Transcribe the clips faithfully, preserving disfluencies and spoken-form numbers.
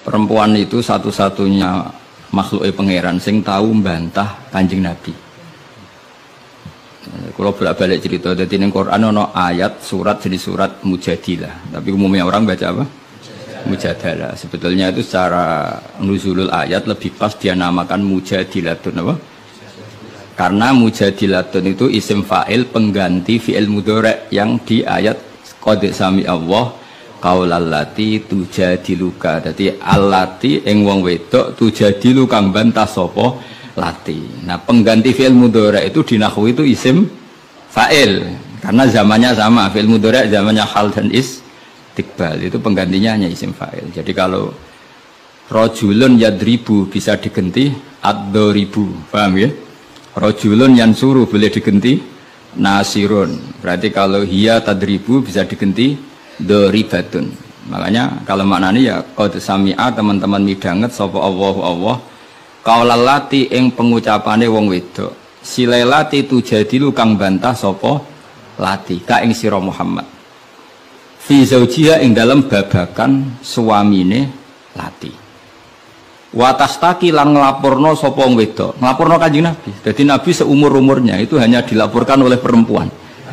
perempuan itu satu-satunya makhluk pangeran sing tahu membantah Kanjeng Nabi. Kalau bolak-balik cerita, jadi di Quran ada ayat surat jadi surat Mujadilah, tapi umumnya orang baca apa? Mujadalah. Sebetulnya itu secara nuzulul ayat lebih pas dia namakan Mujadilatun apa? Karena Mujadilatun itu isim fa'il pengganti fi'il mudhari' yang di ayat qad sami Allah qaulallati tujadiluka. Dadi allati ing wong wedok tujadilu kang bantah sapa lati. Nah, pengganti fi'il mudhari' itu di nahwu itu isim fa'il karena zamannya sama. Fi'il mudhari' zamannya hal dan istiqbal, itu penggantinya hanya isim fa'il. Jadi kalau rajulun yadribu bisa diganti ad-daribu, paham ya? Rajulun yansuru boleh diganti nasirun. Berarti kalau hiya tadribu bisa diganti daribatun. Makanya kalau maknanya ya qad sami'a, teman-teman midanget sapa Allahu Allah kaulalati ing pengucapane wong wedok silelati tujadilu kang bantah sapa lati ka ing sira Muhammad fi zaujiha ing dalam babakan suamine lati watastaki lan nglaporno sapa wong wedok nglaporno Kanjeng Nabi. Jadi Nabi seumur-umurnya itu hanya dilaporkan oleh perempuan.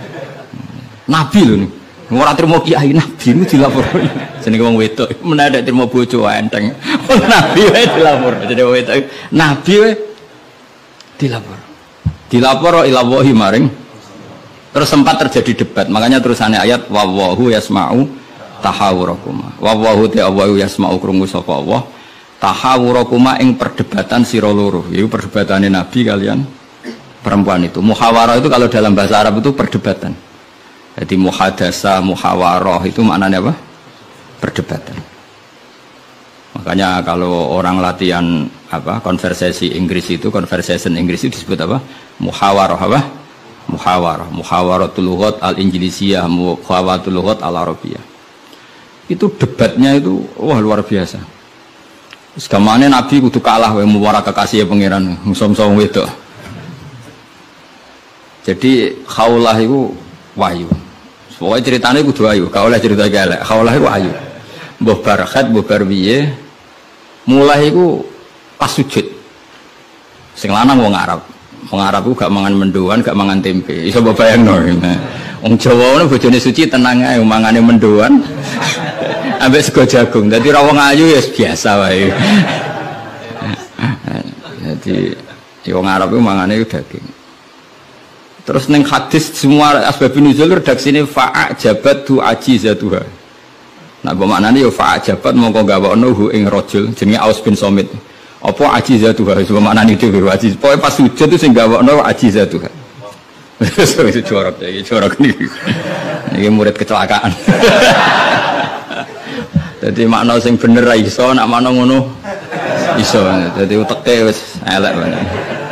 Nabi lho nih ora trimo kiai, Nabi itu dilaporkan jenenge wong wedok menawa trimo bojo enteng. Nabi wae dilapor, jadi wong wedok Nabi wae dilapor. Dilapor ila wahi maring. Terus sempat terjadi debat, makanya terusannya ayat wallahu yasma'u tahawurakuma. Wallahu ta'awu yasma'u krungu sapa Allah tahawurakuma ing perdebatan sira loro. Iku perdebatane Nabi kalian perempuan itu. Muhawarah itu kalau dalam bahasa Arab itu perdebatan. Jadi muhadasa, muhawarah itu maknanya apa? Perdebatan. Makanya kalau orang latihan apa konversasi Inggris itu, conversation Inggris itu disebut apa? Muhawarah apa? Muhawarah. Muhawaratul lughat al-Injlisiyah, muhawaratul lughat al-Arabiyah. Itu debatnya itu wah luar biasa. Segamane Nabi kudu kalah wae muwarah kekasih pangeran, musom-som wedok. Jadi khaulah itu wahyu. Pokoknya ceritanya kudu wahyu, gak oleh cerita elek. Khaulah itu wahyu. Mbah Barakhat, mbah Barbiye mulai itu pas sujud. Sing lanang wong Arab. Wong Arab ku gak mangan mendoan, gak mangan tempe. Iso mbok bayangno. Wong Jawa ngono bojone suci tenang ae mangane mendoan. Ambek sego jagung. Dadi ra wong ayu ya biasa wae. Jadi wong Arab ku mangane daging. Terus neng hadis semua asbabun nuzul redaksine fa'ajabat tu ajizatuha. Nah, bermaknanya ya fa'ajabat mongko gawakno hu ing rajul jenenge Aus bin Somit. Apa ajizatuha? Bermaknanya itu ajiz. Pokoke pas sujud itu sing gawakno ajizatuha. Itu jorok iki, jorok niki. Niki murid kecelakaan. Jadi makna sing bener ra iso, nak makna ngono iso. Jadi uteke wis elek banget.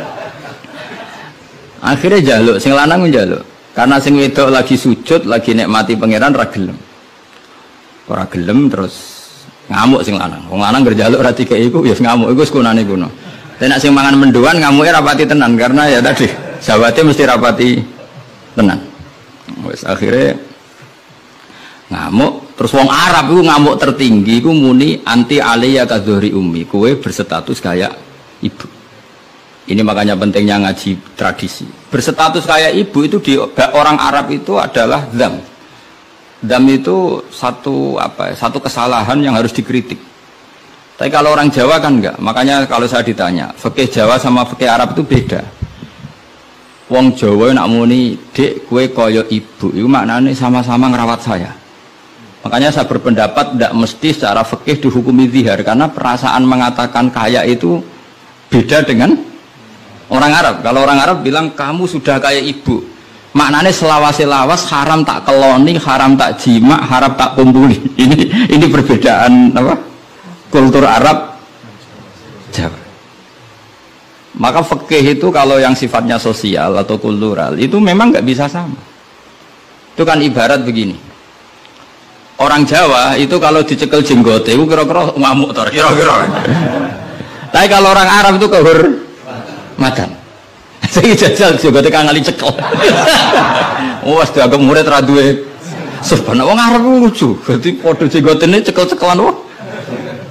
Akhirnya jaluk, sing lanang njaluk. Karena sing wedok lagi sujud, lagi nikmati pangeran ra gelem. Ora gelem terus ngamuk sing lanang. Wong lanang ngerjaluk ra dikeki iku ya ngamuk iku sekunane kuno. Tapi nek sing mangan mendoan ngamuke rapati tenan karena ya tadi sawate mesti rapati tenan. Wis akhirnya ngamuk, terus wong Arab iku ngamuk tertinggi iku muni anti aliyya kadhuri ummi, kowe berstatus kayak ibu. Ini makanya pentingnya ngaji tradisi. Berstatus kayak ibu itu di orang Arab itu adalah dzam. Dzam itu satu apa? Satu kesalahan yang harus dikritik. Tapi kalau orang Jawa kan enggak. Makanya kalau saya ditanya, fikih Jawa sama fikih Arab itu beda. Wong Jawa nak muni, "Dek, kowe kaya ibu." Itu maknanya sama-sama ngerawat saya. Makanya saya berpendapat tidak mesti secara fikih dihukumi zihar karena perasaan mengatakan kaya itu beda dengan orang Arab. Kalau orang Arab bilang kamu sudah kayak ibu, maknanya selawas-selawas haram tak keloni, haram tak jima, haram tak kumpuli. Ini ini perbedaan apa? Kultur Arab Jawa. Maka fikih itu kalau yang sifatnya sosial atau kultural itu memang nggak bisa sama. Itu kan ibarat begini. Orang Jawa itu kalau dicekel jenggote itu kira-kira ngamuk tor, kira-kira. Tapi kalau orang Arab itu kehur madan. Saya jajal juga tekan ngali cekel. Oh, sudah agak murid radue. Sebenarnya orang Arab lucu. Jadi podo jenggotene cekel-cekelan wah.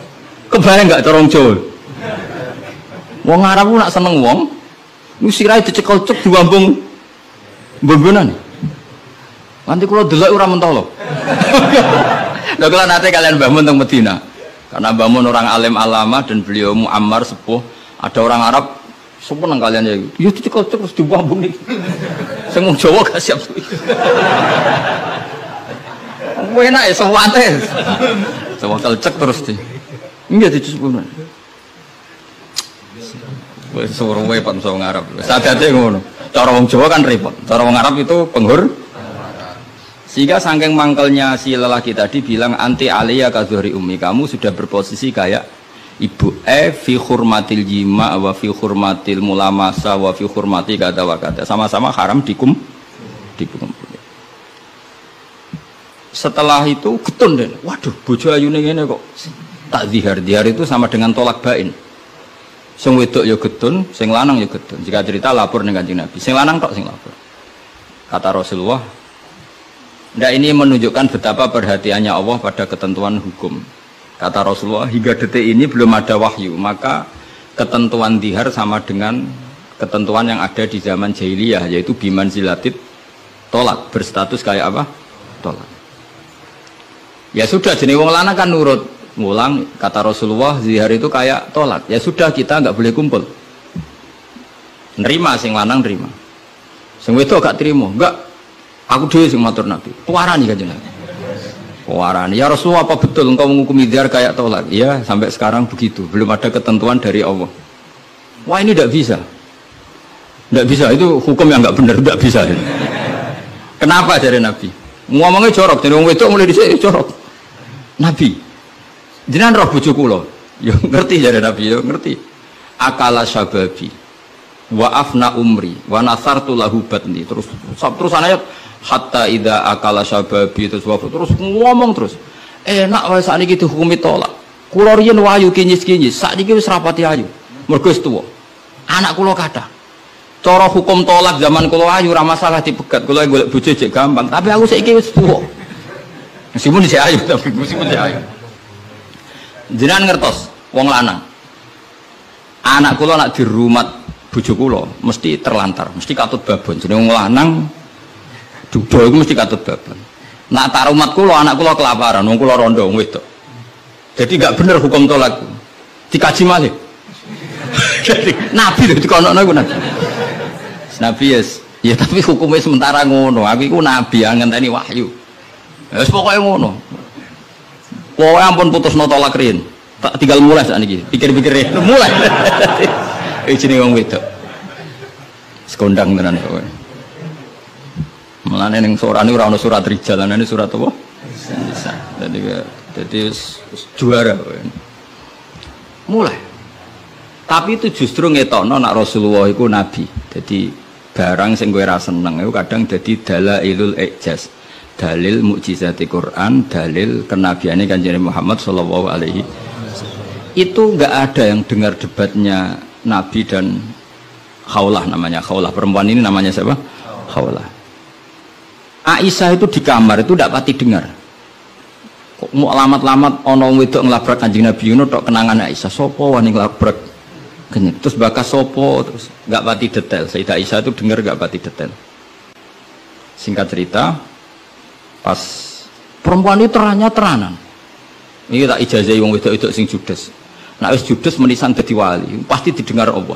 Kebayang enggak corong Jawa? Wong Arab ku nak seneng wong, nu sirahe dicekel cek diwambung mbombonan. Nanti kula delok ora mentolo. Lha kula nate kalian Mbah Mun teng Medina. Karena Mbah Mun orang alim alama dan beliau muammar sepuh, ada orang Arab seneng kalian ya. Yo dicekel cek terus diwambung niki. Sing wong Jawa gak siap. Kowe enak ya sewate. Sewakal cek terus di. Enggak dicekel. Wis suruh wae Pak wong Arab. Sadate ngono. Cara wong Jawa kan repot. Cara wong Arab itu penghur. Sehingga saking mangkelnya si lelaki tadi bilang anti aliyah kadhuri ummi, kamu sudah berposisi kayak ibu. Eh fi hurmatil jima wa fi hurmatil mulamasa wa fi hurmati kata wa kata. Sama-sama haram dikum dikum. Setelah itu getun deh. Waduh, bojo ayune ngene kok. Tak zihar. Zihar itu sama dengan tolak bain. Sing wedok ya getun, sing lanang ya getun. Jika cerita lapor dengan Kanjeng Nabi. Sing lanang tok sing lapor. Kata Rasulullah, nah ini menunjukkan betapa perhatiannya Allah pada ketentuan hukum. Kata Rasulullah, hingga detik ini belum ada wahyu, maka ketentuan dihar sama dengan ketentuan yang ada di zaman jahiliyah, yaitu biman zilatit tolak, berstatus kayak apa? Tolak. Ya sudah, jenis wong lanang kan nurut. Ngulang, kata Rasulullah, zihar itu kayak tolak. Ya sudah, kita nggak boleh kumpul. Nerima, sing lanang nerima. Sing wedok gak terima, enggak. Aku dhewe sing matur Nabi. Puarani Kanjeng Nabi. Puarani. Ya Rasulullah, apa betul engkau menghukumi zihar kayak tolak? Iya, sampai sekarang begitu. Belum ada ketentuan dari Allah. Wah, ini tidak bisa. Tidak bisa, itu hukum yang nggak benar, tidak bisa. Kenapa dari Nabi? Ngomongnya jorok, jadi wong wedok mulai dhisik jorok. Nabi, jenengan roh bojo kula. Ya ngerti dari Nabi, ya ngerti. Akala syababi wa afna umri wa nasartu lahu batni. Terus terus ayat hatta idza akala syababi terus wa terus ngomong terus. Enak wae sakniki dihukumi tolak. Kula riyen wayu kinyis-kinyis, sakniki wis rapati ayu. Mergo wis tuwa. Anak kula kathah. Cara hukum tolak zaman kula ayu ora masalah dipegat. Kula golek bojo jek gampang, tapi aku saiki wis tuwa. Meskipun isih ayu, tapi meskipun isih ayu. Jenengan ngertos wong lanang. Anak kula nak dirumat bojo kula mesti terlantar, mesti katut babon. Jenenge wong lanang duda iku mesti katut babon. Nak tak rumat kula anak kula kelaparan, wong kula rondo wong wedok. Jadi enggak bener hukum tolak. Dikaji malih. Jadi Nabi lho dikonokno iku Nabi. Nabi yes, ya tapi hukumnya sementara ngono. Aku iku nabi yang ngenteni wahyu. Ya wis pokoke ngono. Pokoke ampun putusno tolak rin. Tak tinggal mulai sak niki. Pikir-pikir mulai. Iki jenenge wong wedok. Sekondang tenan kowe. Mulane ning surane ora ono surat rijal, ana surat apa? Nisa. Dadi dadi juara kowe. Mulai. Tapi itu justru ngetokno nak Rasulullah iku nabi. Jadi barang sing kowe ra seneng iku kadang dadi dalailul ijaz, dalil mukjizat Quran, dalil kenabiane Kanjeng Muhammad sallallahu alaihi wasallam. Itu enggak ada yang dengar debatnya Nabi dan Khawlah, namanya Khawlah, perempuan ini namanya siapa? Khawlah. Aisyah itu di kamar itu ndak pati dengar. Kok mau alamat-alamat ana wedok nglabrak Kanjeng Nabi ngono tok kenangan Aisyah, sapa wani nglabrak? Terus bakas sopo, terus nggak pati detail. Sayyidah Aisyah itu dengar nggak pati detail. Singkat cerita, pas perempuan itu teranya teranan. Ini tak ijazah wong wedok-wedok sing judes. Nah wis judes menisan dadi wali, pasti didengar Allah.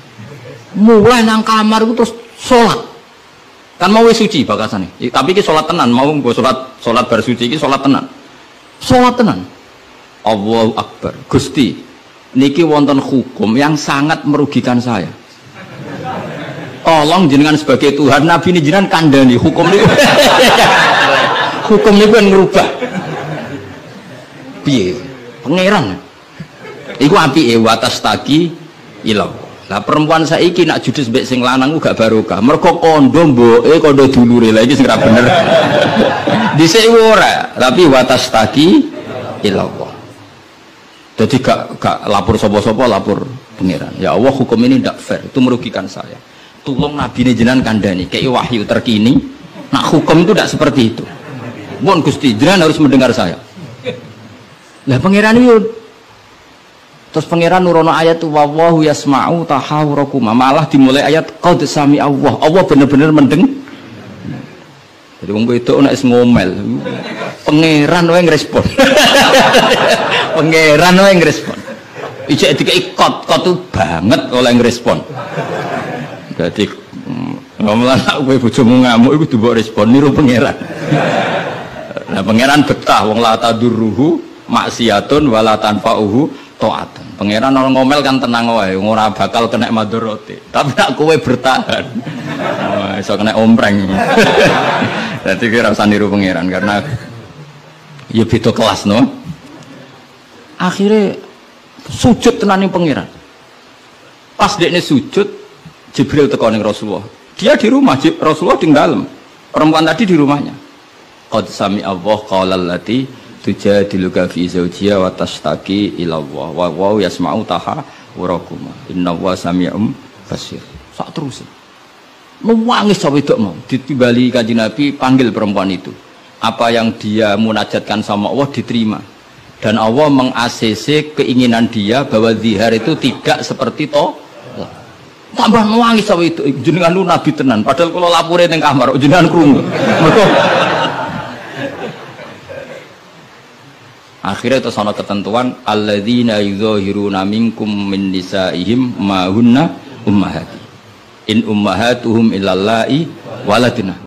Mulai nang kamar itu terus sholat. Kan mau wis suci bakasane. Tapi iki sholat tenan, mau nggo sholat sholat bar suci iki sholat tenan. Sholat tenan. Allahu Akbar. Gusti, niki wonten hukum yang sangat merugikan saya. Tolong jenengan sebagai Tuhan, Nabi ini jenengan kandani hukum ini. Hukum ini kan ngerubah. Piye? Pangeran. Iku api e watas taki ilau. Lah perempuan saiki nak judes mbek sing lanang ku gak barokah. Mergo kondo mboke kondo dulure. Lah iki sing ra bener. Dhisik ora, tapi watas taki ilau. Jadi gak, gak lapor sopo-sopo, lapor pangeran. Ya Allah, hukum ini tidak fair, itu merugikan saya. Tolong Nabi ini jenengan kandani, kayak wahyu terkini. Nah hukum itu tidak seperti itu. Mohon Gusti, jenengan harus mendengar saya. Lah pangeran itu Terus pangeran nurono ayat wallahu yasma'u tahawurakuma, malah dimulai ayat qad sami Allah. Allah bener-bener mendeng. Jadi wong itu nek ngomel, pangeran wae ngrespon. Pangeran wae ngrespon. Ijek dikei kot, kot tu banget oleh ngrespon. Dadi ngomelan kowe bojomu ngamuk iku mbok respon niru pangeran. Nah pangeran betah wong la tadurruhu maksiatun wala tanfa'uhu ta'atun. Pangeran orang ngomel kan tenang wae, ora bakal kena madharate. Tapi nek kowe bertahan, oh, iso kena ompreng. Dadi kira usah niru pangeran karena ya beda kelas no. Akhirnya sujud tenan ning pangeran. Pas dekne sujud, Jibril teko ning Rasulullah. Dia di rumah, Rasulullah di dalam. Perempuan tadi di rumahnya. Qad sami Allah qala allati tujadiluka fi zawjiha wa tashtaki ila Allah wa wa yasma'u tahawurakuma innallaha sami'un basir. Sak terus. Nangis sampai dok mau ditimbali Kanjeng Nabi panggil perempuan itu. Apa yang dia munajatkan sama Allah diterima. Dan Allah meng-A C C keinginan dia bahwa zihar itu tidak seperti to. Tambah nangis sampai itu jenengan lu nabi tenan padahal kalau lapore ning kamar jenengan krungu. Akhirnya itu sono ketentuan alladzina yuzahiruna minkum min nisaihim ma hunna ummahati in ummahatuhum illallahi waladina